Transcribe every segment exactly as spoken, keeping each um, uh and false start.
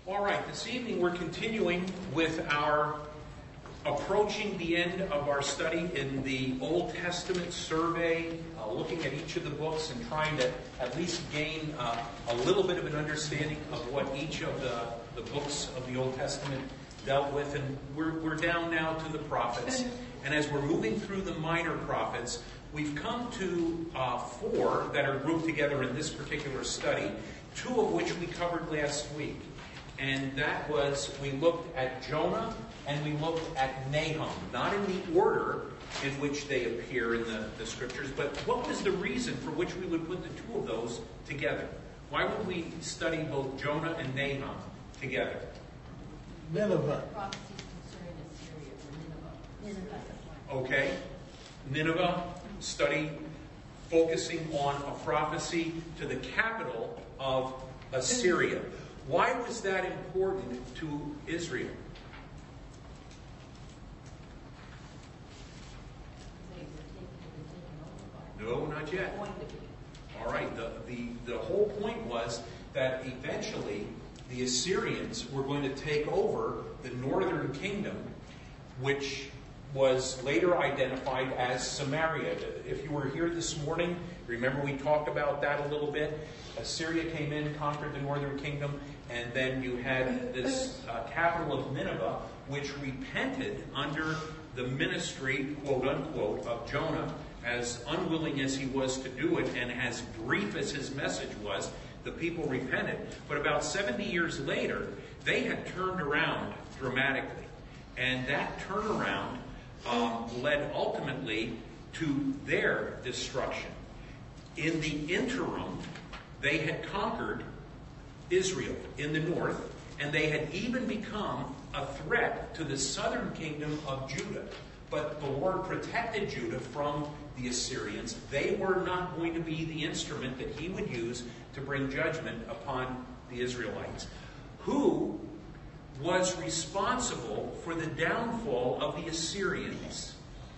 All right, this evening we're continuing with our approaching the end of our study in the Old Testament survey, uh, looking at each of the books and trying to at least gain uh, a little bit of an understanding of what each of the, the books of the Old Testament dealt with. And we're, we're down now to the prophets. And as we're moving through the minor prophets, we've come to uh, four that are grouped together in this particular study, two of which we covered last week. And that was, we looked at Jonah and we looked at Nahum, not in the order in which they appear in the, the scriptures, but what was the reason for which we would put the two of those together? Why would we study both Jonah and Nahum together? Nineveh. Prophecies concerning Assyria or Nineveh. Nineveh. Okay. Nineveh, study focusing on a prophecy to the capital of Assyria. Why was that important to Israel? No, not yet. All right. The, the, the whole point was that eventually the Assyrians were going to take over the northern kingdom, which was later identified as Samaria. If you were here this morning, remember we talked about that a little bit. Assyria came in, conquered the northern kingdom, and then you had this uh, capital of Nineveh, which repented under the ministry, quote unquote, of Jonah, as unwilling as he was to do it, and as brief as his message was. The people repented. But about seventy years later, they had turned around dramatically. And that turnaround um, led ultimately to their destruction. In the interim, they had conquered Israel in the north, and they had even become a threat to the southern kingdom of Judah. But the Lord protected Judah from the Assyrians. They were not going to be the instrument that he would use to bring judgment upon the Israelites. Who was responsible for the downfall of the Assyrians?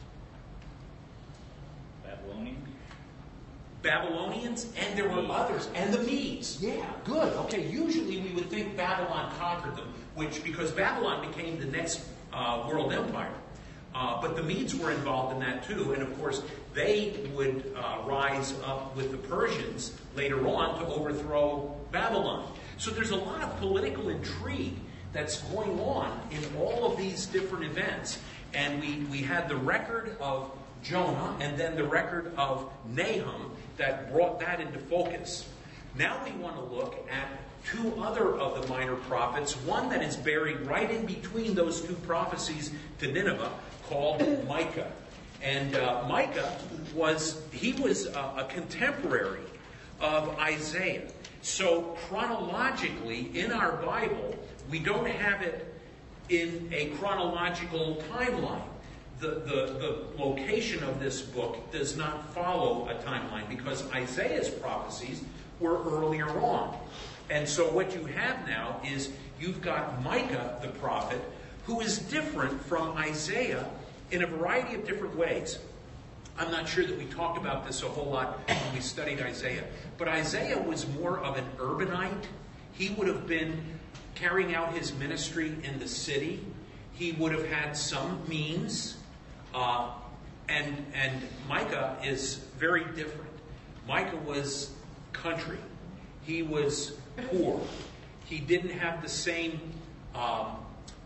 Babylonians? Babylonians, and there were others, and the Medes. Yeah, good. Okay, usually we would think Babylon conquered them, which because Babylon became the next uh, world empire. Uh, but the Medes were involved in that too, and of course they would uh, rise up with the Persians later on to overthrow Babylon. So there's a lot of political intrigue that's going on in all of these different events. And we, we had the record of Jonah and then the record of Nahum that brought that into focus. Now we want to look at two other of the minor prophets, one that is buried right in between those two prophecies to Nineveh, called Micah. And uh, Micah was, he was a, a contemporary of Isaiah. So chronologically, in our Bible, we don't have it in a chronological timeline. The, the, the location of this book does not follow a timeline because Isaiah's prophecies were earlier on. And so what you have now is you've got Micah the prophet, who is different from Isaiah in a variety of different ways. I'm not sure that we talked about this a whole lot when we studied Isaiah. But Isaiah was more of an urbanite. He would have been carrying out his ministry in the city. He would have had some means. Uh, and, and Micah is very different. Micah was country. He was poor. He didn't have the same um,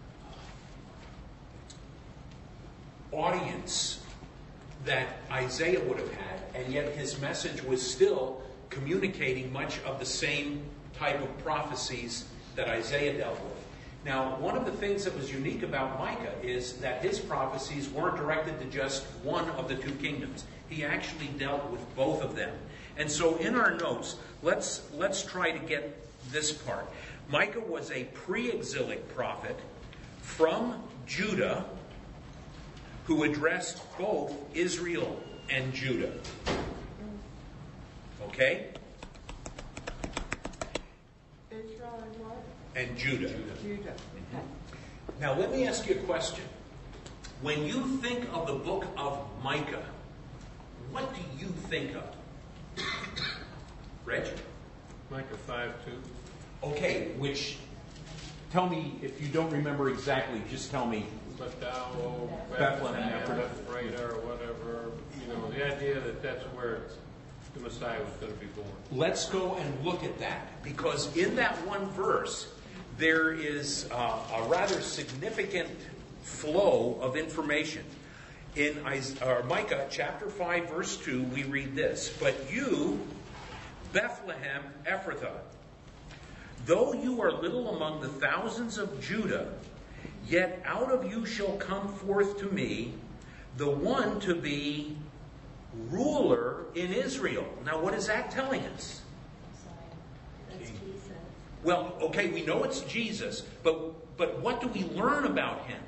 audience that Isaiah would have had, and yet his message was still communicating much of the same type of prophecies that Isaiah dealt with. Now, one of the things that was unique about Micah is that his prophecies weren't directed to just one of the two kingdoms. He actually dealt with both of them. And so in our notes, let's let's try to get this part. Micah was a pre-exilic prophet from Judah who addressed both Israel and Judah. Okay? Israel and what? And Judah. Judah. Okay. Now let me ask you a question. When you think of the book of Micah, what do you think of? Reg? Micah five two. Okay, which tell me, if you don't remember exactly, just tell me. But thou, O Bethlehem, Bethlehem, Ephrathah. Ephrathah, or whatever, you know, the idea that that's where the Messiah was going to be born. Let's go and look at that, because in that one verse, there is uh, a rather significant flow of information. In Isaiah, or Micah chapter five, verse two, we read this: "But you, Bethlehem Ephrathah, though you are little among the thousands of Judah, yet out of you shall come forth to me the one to be ruler in Israel." Now, what is that telling us? That's Jesus. Well, okay, we know it's Jesus, but but what do we learn about him?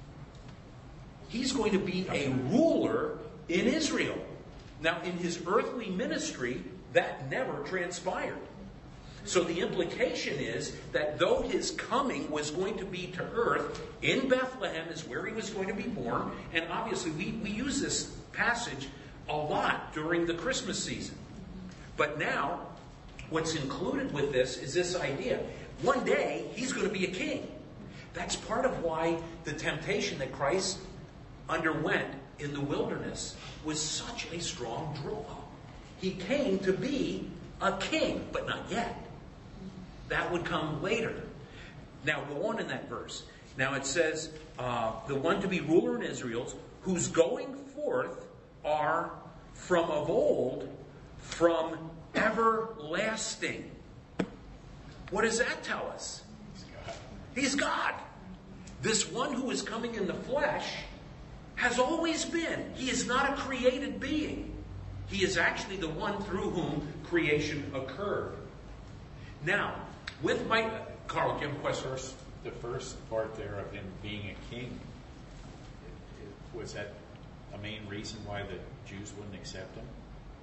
He's going to be a ruler in Israel. Now, in his earthly ministry, that never transpired. So the implication is that though his coming was going to be to earth, in Bethlehem is where he was going to be born, and obviously we, we use this passage a lot during the Christmas season. But now, what's included with this is this idea. One day, he's going to be a king. That's part of why the temptation that Christ underwent in the wilderness was such a strong draw. He came to be a king, but not yet. That would come later. Now, go on in that verse. Now it says, uh, the one to be ruler in Israel, whose going forth are from of old, from everlasting. What does that tell us? He's God. This one who is coming in the flesh has always been. He is not a created being. He is actually the one through whom creation occurred. Now, with my... Carl, do you have a question? First, the first part there of him being a king, it, it, was that a main reason why the Jews wouldn't accept him?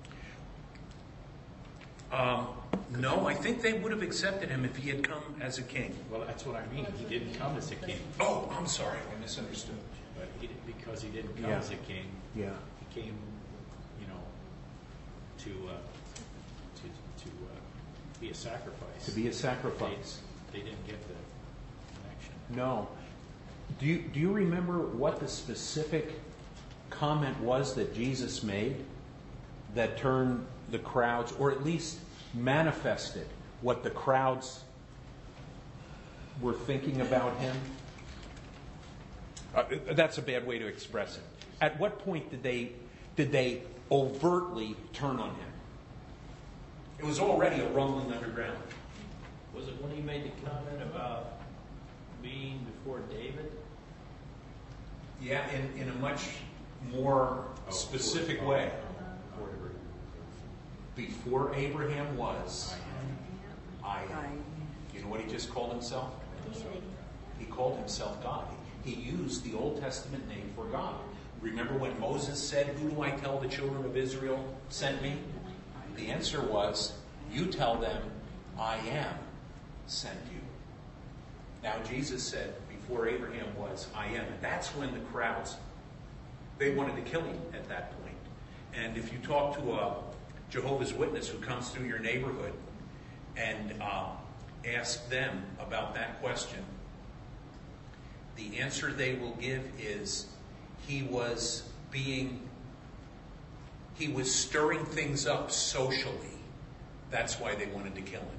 Um, no, I think they would have accepted him if he had come as a king. Well, that's what I mean. He didn't come as a king. Oh, I'm sorry. I misunderstood. But he, because he didn't come Yeah. as a king, Yeah. he came, you know, to uh, to to uh, be a sacrifice. To be a sacrifice. They, they didn't get the connection. No. Do you, do you remember what the specific comment was that Jesus made that turned the crowds, or at least manifested what the crowds were thinking about him? Uh, that's a bad way to express it. At what point did they did they overtly turn on him? It was already a rumbling underground. Was it when he made the comment about being before David? Yeah, in, in a much more Oh, specific before- way. before Abraham. Before Abraham was, I am. I- You know what he just called himself? He called himself God. He used the Old Testament name for God. Remember when Moses said, "Who do I tell the children of Israel sent me?" The answer was, "You tell them, I am sent you." Now Jesus said, before Abraham was, I am. And that's when the crowds, they wanted to kill him at that point. And if you talk to a Jehovah's Witness who comes through your neighborhood and uh, ask them about that question, the answer they will give is he was being, he was stirring things up socially. That's why they wanted to kill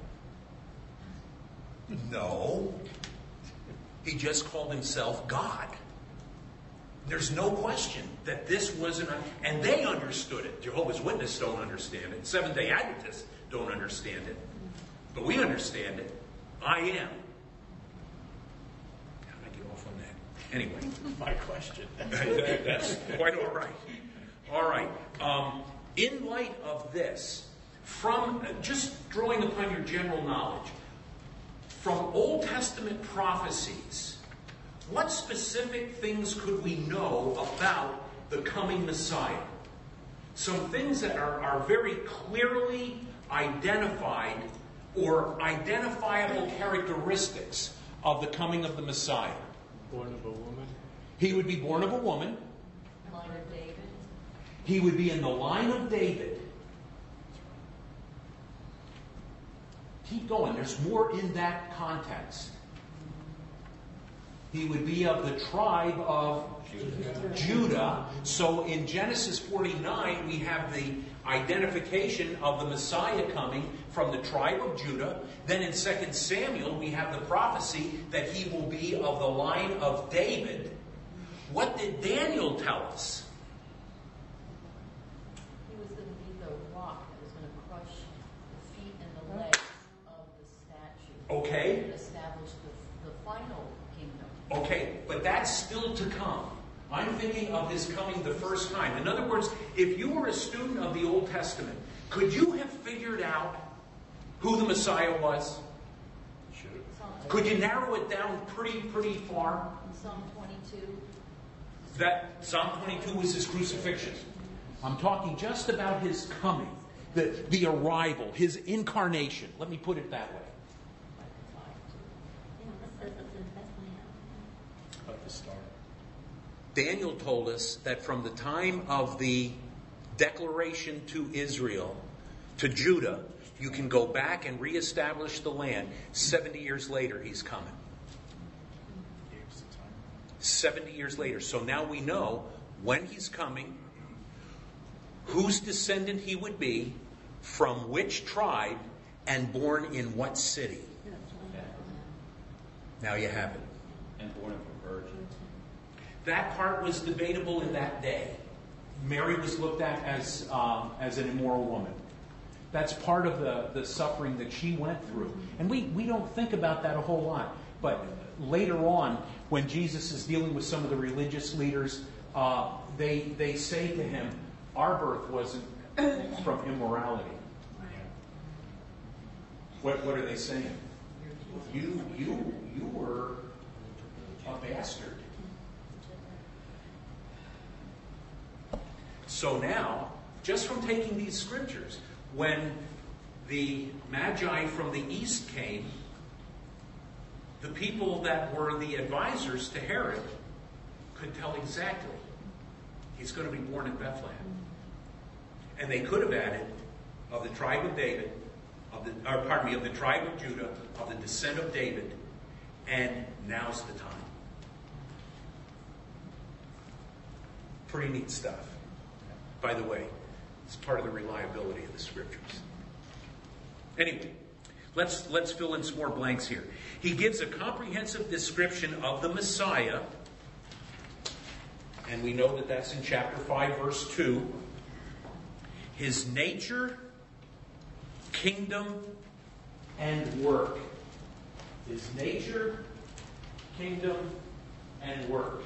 him. No. He just called himself God. There's no question that this wasn't, a, and they understood it. Jehovah's Witnesses don't understand it. Seventh-day Adventists don't understand it. But we understand it. I am. How did I get off on that? Anyway. My question. That's quite all right. All right. Um, in light of this, from just drawing upon your general knowledge, from Old Testament prophecies, what specific things could we know about the coming Messiah? Some things that are, are very clearly identified or identifiable characteristics of the coming of the Messiah. Born of a woman. He would be born of a woman. Line of David. He would be in the line of David. Keep going. There's more in that context. He would be of the tribe of Judah. So in Genesis forty-nine, we have the identification of the Messiah coming from the tribe of Judah. Then in Second Samuel, we have the prophecy that he will be of the line of David. What did Daniel tell us? He was going to be the rock that was going to crush the feet and the legs of the statue. Okay. And establish the, the final kingdom. Okay, but that's still to come. I'm thinking of his coming the first time. In other words, if you were a student of the Old Testament, could you have figured out who the Messiah was? Should Psalm, Could you narrow it down pretty, pretty far? Psalm twenty-two. That Psalm twenty-two was his crucifixion. I'm talking just about his coming, the, the arrival, his incarnation. Let me put it that way. About the star. Daniel told us that from the time of the declaration to Israel, to Judah, you can go back and reestablish the land. seventy years later, he's coming. Here's the time. seventy years later. So now we know when he's coming, whose descendant he would be, from which tribe, and born in what city. Now you have it. And born of a virgin. That part was debatable in that day. Mary was looked at as um, as an immoral woman. That's part of the, the suffering that she went through. And we, we don't think about that a whole lot. But later on, when Jesus is dealing with some of the religious leaders, uh, they, they say to him, our birth wasn't from immorality. What, what are they saying? You, you, you were a bastard. So now, just from taking these scriptures, when the Magi from the east came, the people that were the advisors to Herod could tell exactly he's going to be born in Bethlehem. And they could have added of the tribe of David, of the, or pardon me, of the tribe of Judah, of the descent of David, and now's the time. Pretty neat stuff. By the way, it's part of the reliability of the scriptures. Anyway, let's let's fill in some more blanks here. He gives a comprehensive description of the Messiah, and we know that that's in chapter five, verse two. His nature, kingdom, and work. His nature, kingdom, and work.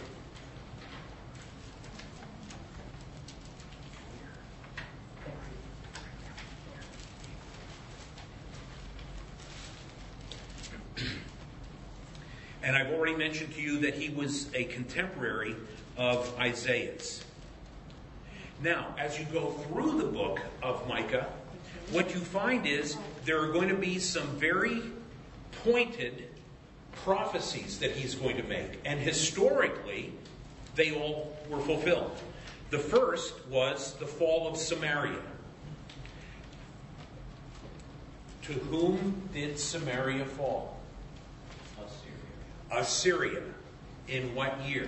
And I've already mentioned to you that he was a contemporary of Isaiah's. Now, as you go through the book of Micah, what you find is there are going to be some very pointed prophecies that he's going to make. And historically, they all were fulfilled. The first was the fall of Samaria. To whom did Samaria fall? Assyria. In what year?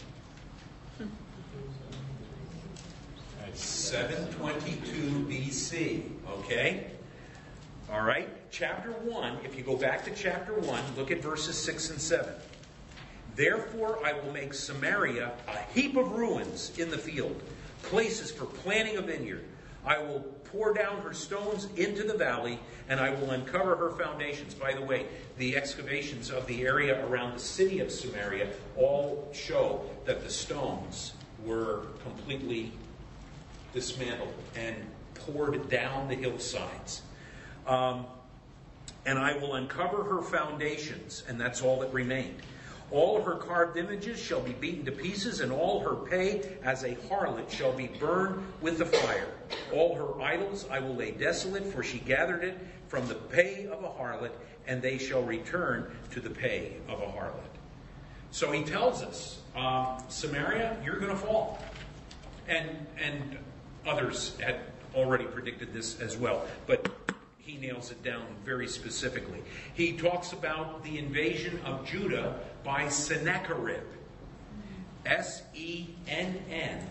seven twenty-two B C. Okay? All right? Chapter one, if you go back to chapter one, look at verses six and seven. Therefore I will make Samaria a heap of ruins in the field, places for planting a vineyard. I will pour down her stones into the valley, and I will uncover her foundations. By the way, the excavations of the area around the city of Samaria all show that the stones were completely dismantled and poured down the hillsides. Um, and I will uncover her foundations, and that's all that remained. All her carved images shall be beaten to pieces, and all her pay as a harlot shall be burned with the fire. All her idols I will lay desolate, for she gathered it from the pay of a harlot, and they shall return to the pay of a harlot. So he tells us, um, Samaria, you're going to fall. And, and others had already predicted this as well. But he nails it down very specifically. He talks about the invasion of Judah by Sennacherib. S E N N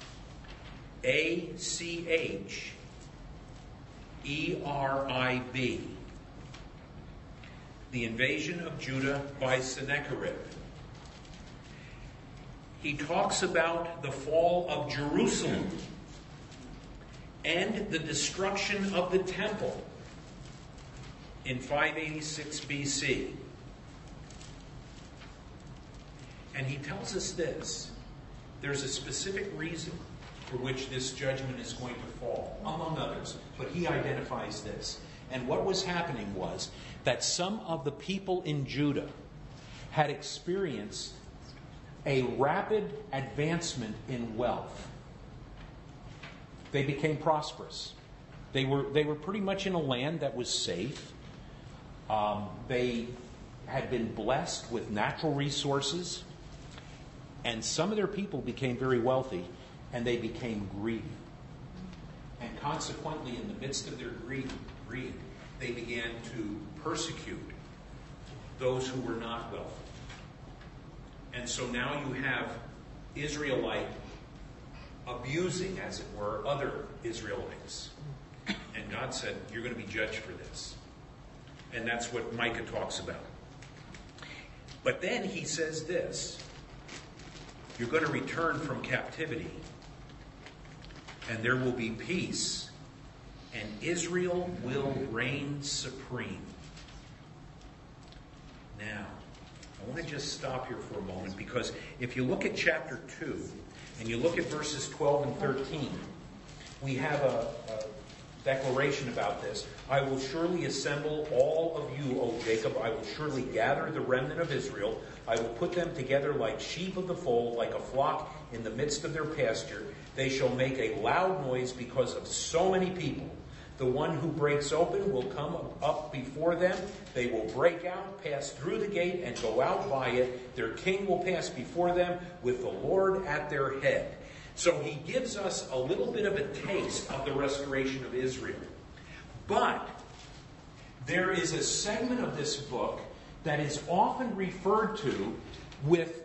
A C H E R I B. The invasion of Judah by Sennacherib. He talks about the fall of Jerusalem and the destruction of the temple in five eighty-six B C. And he tells us this: there's a specific reason for which this judgment is going to fall, among others, but he identifies this. And what was happening was that some of the people in Judah had experienced a rapid advancement in wealth. They became prosperous. They were, they were pretty much in a land that was safe. Um, they had been blessed with natural resources. And some of their people became very wealthy, and they became greedy. And consequently, in the midst of their greed, greed, they began to persecute those who were not wealthy. And so now you have Israelite abusing, as it were, other Israelites. And God said, you're going to be judged for this. And that's what Micah talks about. But then he says this: you're going to return from captivity, and there will be peace, and Israel will reign supreme. Now, I want to just stop here for a moment, because if you look at chapter two, and you look at verses twelve and thirteen, we have a, a declaration about this. I will surely assemble all of you, O Jacob. I will surely gather the remnant of Israel. I will put them together like sheep of the fold, like a flock in the midst of their pasture. They shall make a loud noise because of so many people. The one who breaks open will come up before them. They will break out, pass through the gate, and go out by it. Their king will pass before them with the Lord at their head. So he gives us a little bit of a taste of the restoration of Israel. But there is a segment of this book that is often referred to with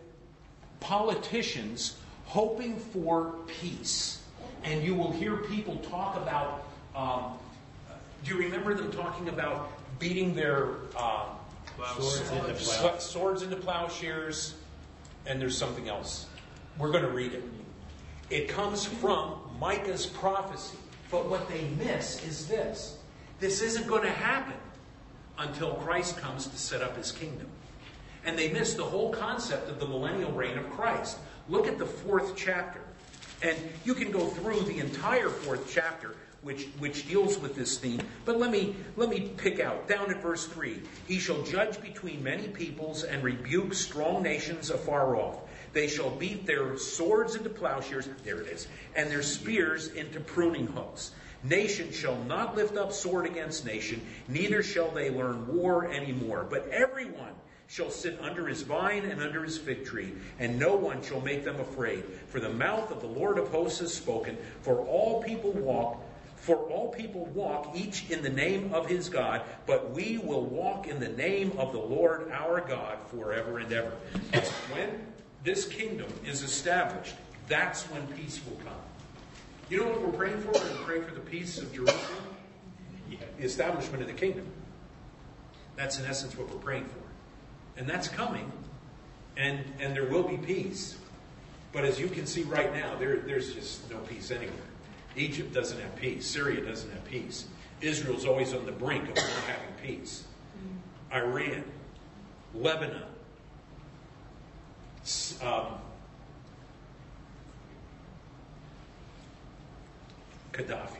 politicians hoping for peace. And you will hear people talk about, um, do you remember them talking about beating their uh, Swords into sw- plow- swords into plowshares? And there's something else. We're going to read it. It comes from Micah's prophecy. But what they miss is this: this isn't going to happen until Christ comes to set up his kingdom. And they miss the whole concept of the millennial reign of Christ. Look at the fourth chapter. And you can go through the entire fourth chapter, which, which deals with this theme. But let me, let me pick out, down at verse three. He shall judge between many peoples and rebuke strong nations afar off. They shall beat their swords into plowshares, there it is, and their spears into pruning hooks. Nation shall not lift up sword against nation, neither shall they learn war anymore. But everyone shall sit under his vine and under his fig tree, and no one shall make them afraid. For the mouth of the Lord of hosts has spoken, for all people walk, for all people walk each in the name of his God, but we will walk in the name of the Lord our God forever and ever. When this kingdom is established, that's when peace will come. You know what we're praying for? We're praying for the peace of Jerusalem, the establishment of the kingdom. That's in essence what we're praying for. And that's coming, and, and there will be peace. But as you can see right now, there, there's just no peace anywhere. Egypt doesn't have peace. Syria doesn't have peace. Israel's always on the brink of not having peace. Iran, Lebanon, um, Gaddafi,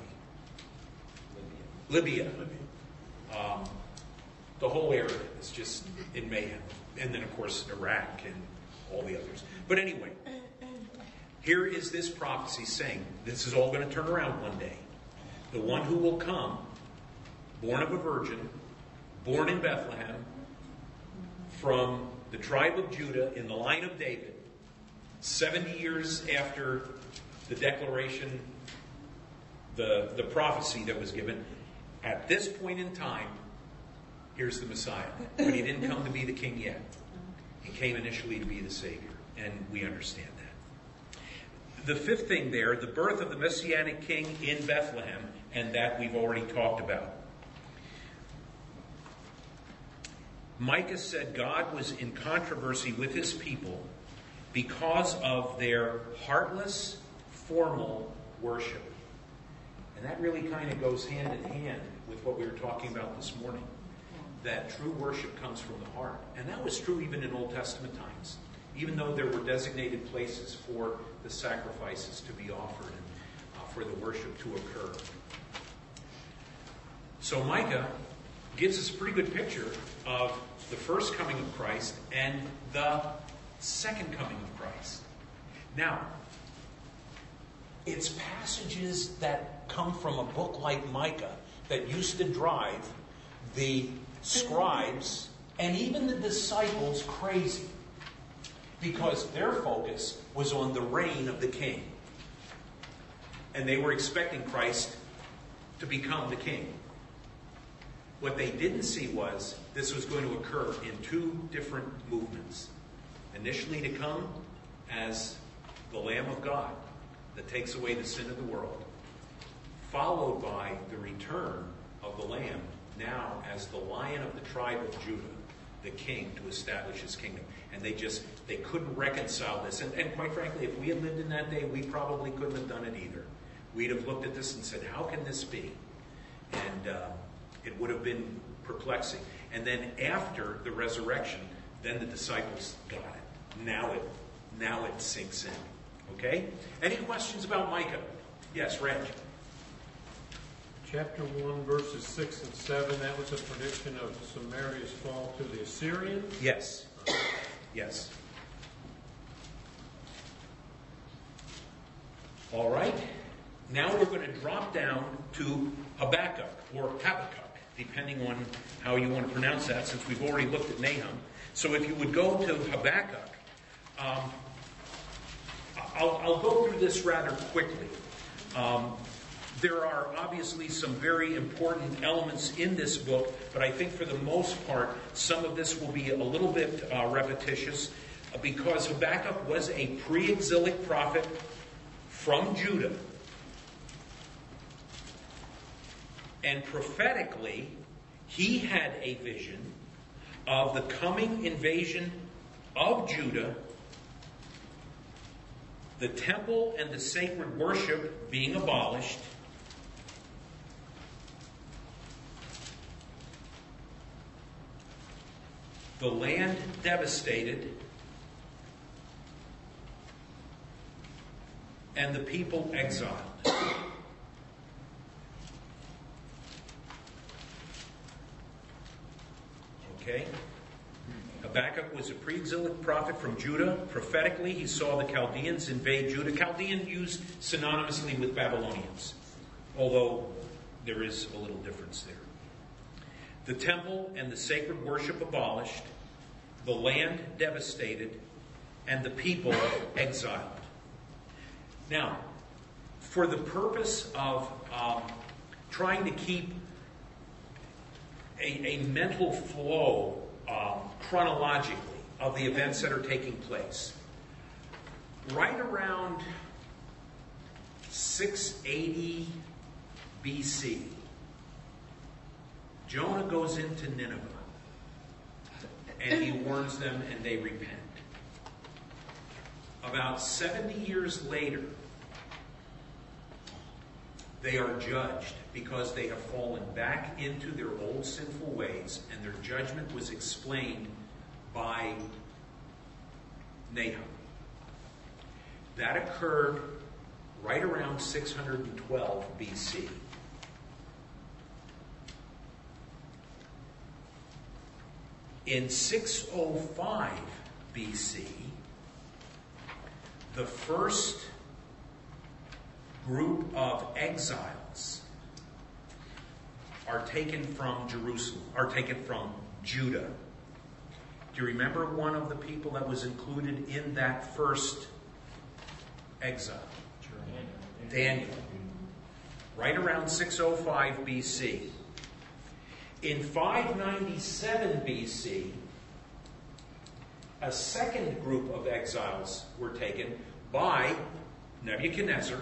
Libya, um, the whole area is just in mayhem. And then, of course, Iraq and all the others. But anyway, here is this prophecy saying this is all going to turn around one day. The one who will come, born of a virgin, born in Bethlehem, from the tribe of Judah in the line of David, seventy years after the declaration, the, the prophecy that was given, At this point in time, here's the Messiah. But he didn't come to be the king yet. He came initially to be the Savior, and we understand that. The fifth thing there, the birth of the Messianic king in Bethlehem, and that we've already talked about. Micah said God was in controversy with his people because of their heartless, formal worship. And that really kind of goes hand in hand with what we were talking about this morning. That true worship comes from the heart. And that was true even in Old Testament times. Even though there were designated places for the sacrifices to be offered and uh, for the worship to occur. So Micah gives us a pretty good picture of the first coming of Christ and the second coming of Christ. Now, it's passages that come from a book like Micah that used to drive the scribes and even the disciples crazy, because their focus was on the reign of the king. And they were expecting Christ to become the king. What they didn't see was this was going to occur in two different movements. Initially to come as the Lamb of God that takes away the sin of the world, followed by the return of the Lamb, now as the Lion of the tribe of Judah, the king, to establish his kingdom. And they just, they couldn't reconcile this. And, and quite frankly, if we had lived in that day, we probably couldn't have done it either. We'd have looked at this and said, how can this be? And uh, it would have been perplexing. And then after the resurrection, then the disciples got it. Now it, now it sinks in. Okay? Any questions about Micah? Yes, Reg. Chapter one, verses six and seven, that was a prediction of Samaria's fall to the Assyrians? Yes. Yes. All right. Now we're going to drop down to Habakkuk, or Habakkuk, depending on how you want to pronounce that, since we've already looked at Nahum. So if you would go to Habakkuk, um, I'll, I'll go through this rather quickly. Um, there are obviously some very important elements in this book, but I think for the most part, some of this will be a little bit uh, repetitious, uh, because Habakkuk was a pre-exilic prophet from Judah. And prophetically, he had a vision of the coming invasion of Judah, the temple and the sacred worship being abolished, the land devastated, and the people exiled. Okay? Habakkuk was a pre-exilic prophet from Judah. Prophetically, he saw the Chaldeans invade Judah. Chaldean used synonymously with Babylonians, although there is a little difference there. The temple and the sacred worship abolished, the land devastated, and the people exiled. Now, for the purpose of um, trying to keep a, a mental flow um, chronologically of the events that are taking place, right around six eighty B C, Jonah goes into Nineveh, and he warns them, and they repent. About seventy years later, they are judged because they have fallen back into their old sinful ways, and their judgment was explained by Nahum. That occurred right around six hundred twelve B C. In six oh five B C, the first group of exiles are taken from Jerusalem, are taken from Judah. Do you remember one of the people that was included in that first exile? Daniel. Right around six oh five B C. In five ninety-seven B C, a second group of exiles were taken by Nebuchadnezzar,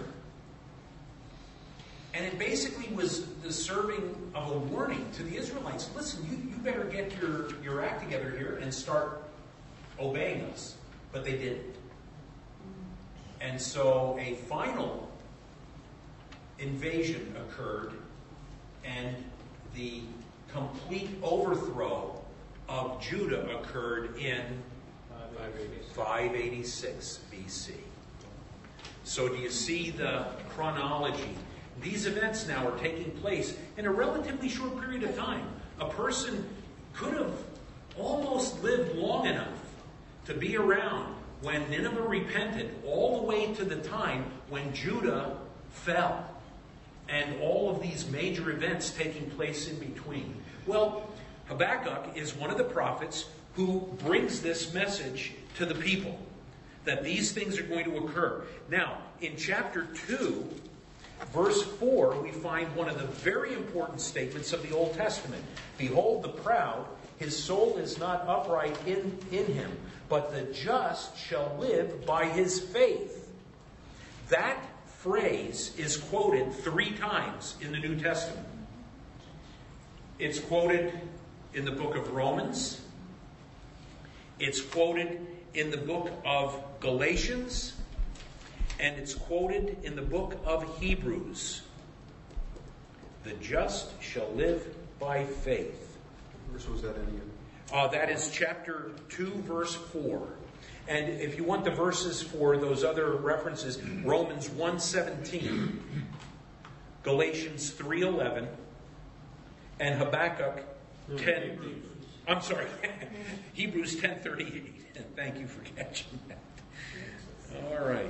and it basically was the serving of a warning to the Israelites. Listen, you, you better get your, your act together here and start obeying us. But they didn't. And so a final invasion occurred, and the complete overthrow of Judah occurred in five eighty-six B C. So do you see the chronology? These events now are taking place in a relatively short period of time. A person could have almost lived long enough to be around when Nineveh repented, all the way to the time when Judah fell, and all of these major events taking place in between. Well, Habakkuk is one of the prophets who brings this message to the people, that these things are going to occur. Now, in chapter two, verse four, we find one of the very important statements of the Old Testament. Behold the proud, his soul is not upright in, in him, but the just shall live by his faith. That phrase is quoted three times in the New Testament. It's quoted in the book of Romans. It's quoted in the book of Galatians. And it's quoted in the book of Hebrews. The just shall live by faith. What verse was that in again? Uh, that is chapter two, verse four. And if you want the verses for those other references, Romans one seventeen, Galatians three eleven, and Habakkuk ten. I'm sorry, Hebrews ten thirty-eight. Thank you for catching that. All right.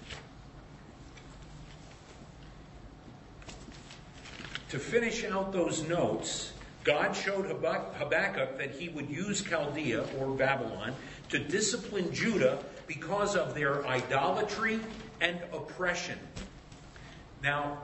To finish out those notes, God showed Habakkuk that he would use Chaldea, or Babylon, to discipline Judah because of their idolatry and oppression. Now,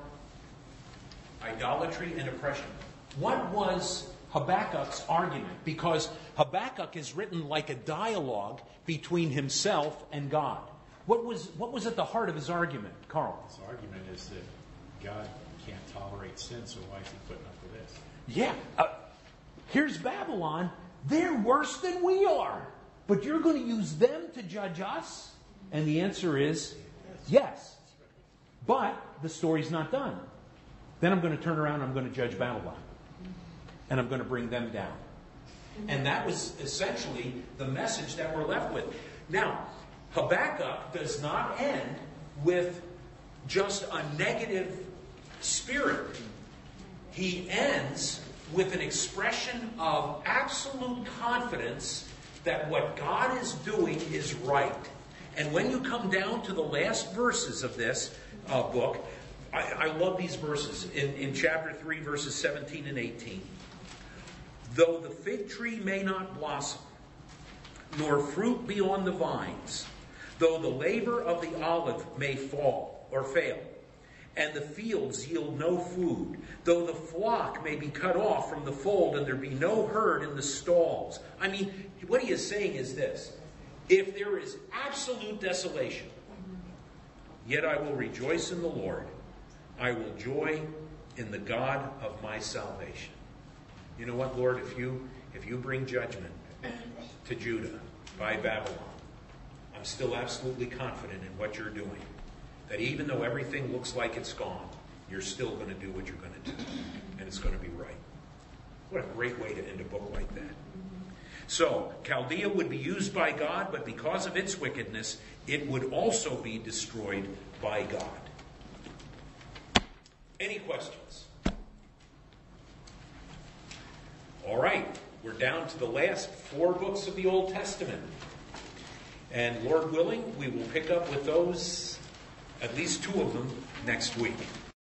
idolatry and oppression. What was Habakkuk's argument? Because Habakkuk is written like a dialogue between himself and God. What was, what was at the heart of his argument, Carl? His argument is that God can't tolerate sin, so why is he putting up with this? Yeah. Uh, here's Babylon. They're worse than we are. But you're going to use them to judge us? And the answer is yes. But the story's not done. Then I'm going to turn around and I'm going to judge Babylon. And I'm going to bring them down. And that was essentially the message that we're left with. Now, Habakkuk does not end with just a negative spirit. He ends with an expression of absolute confidence that what God is doing is right. And when you come down to the last verses of this uh, book, I, I love these verses. In, in chapter three, verses seventeen and eighteen. Though the fig tree may not blossom, nor fruit be on the vines, though the labor of the olive may fall or fail, and the fields yield no food, though the flock may be cut off from the fold, and there be no herd in the stalls. I mean, what he is saying is this: if there is absolute desolation, yet I will rejoice in the Lord. I will joy in the God of my salvation. You know what, Lord? If you if you bring judgment to Judah by Babylon, I'm still absolutely confident in what you're doing. That even though everything looks like it's gone, you're still going to do what you're going to do. And it's going to be right. What a great way to end a book like that. So, Chaldea would be used by God, but because of its wickedness, it would also be destroyed by God. Any questions? All right, we're down to the last four books of the Old Testament. And Lord willing, we will pick up with those, at least two of them, next week.